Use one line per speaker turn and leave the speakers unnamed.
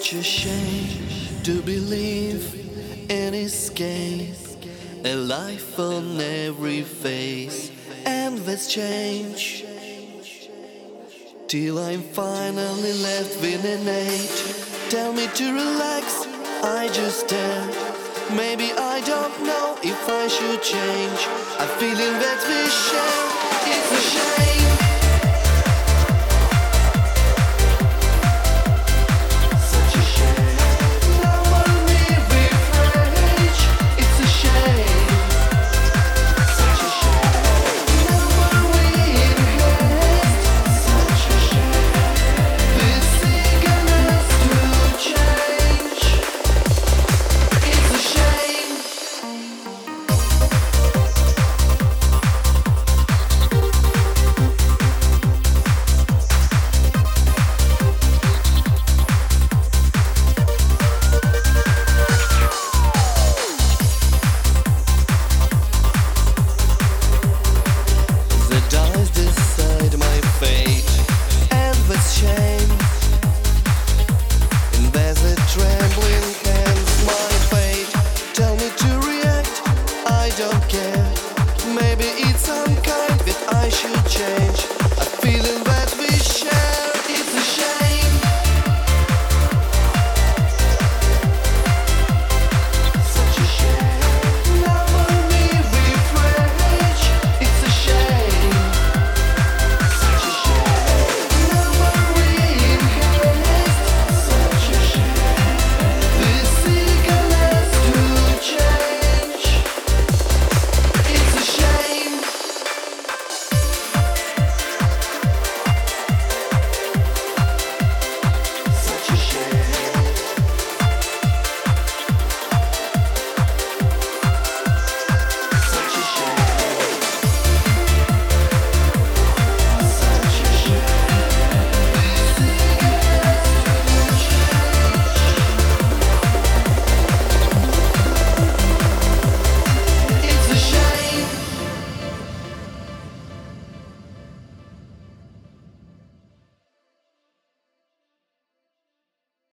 such a shame to believe and escape a life on every face, endless change, till I'm finally left with an eight. Tell me to relax, I just stare. Maybe I don't know if I should change. A feeling that we share, it's a shame.